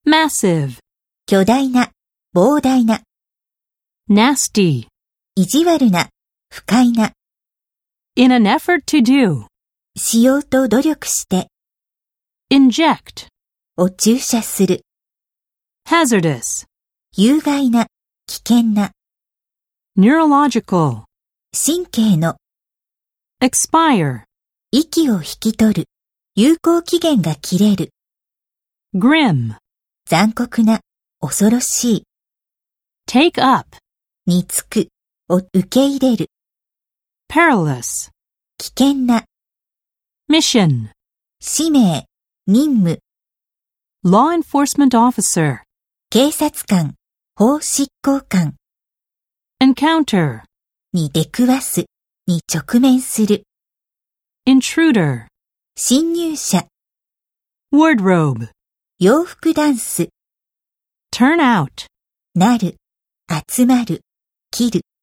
massive, 巨大な、膨大な、 nasty. 意地悪な、不快な、 In an effort to do, しようと努力して、 inject, を注射する、 hazardous, 有害な、危険な、 neurological, 神経の、 expire, 息を引き取る、有効期限が切れる、 grim, 残酷な、恐ろしい、 take up, につく、を受け入れる、 perilous, 危険な、 mission, 使命、任務、 law enforcement officer, 警察官、法執行官 encounter, に出くわす、に直面する、 intruder, 侵入者、 wardrobe, 洋服ダンス、 turn out, なる、集まる、切る。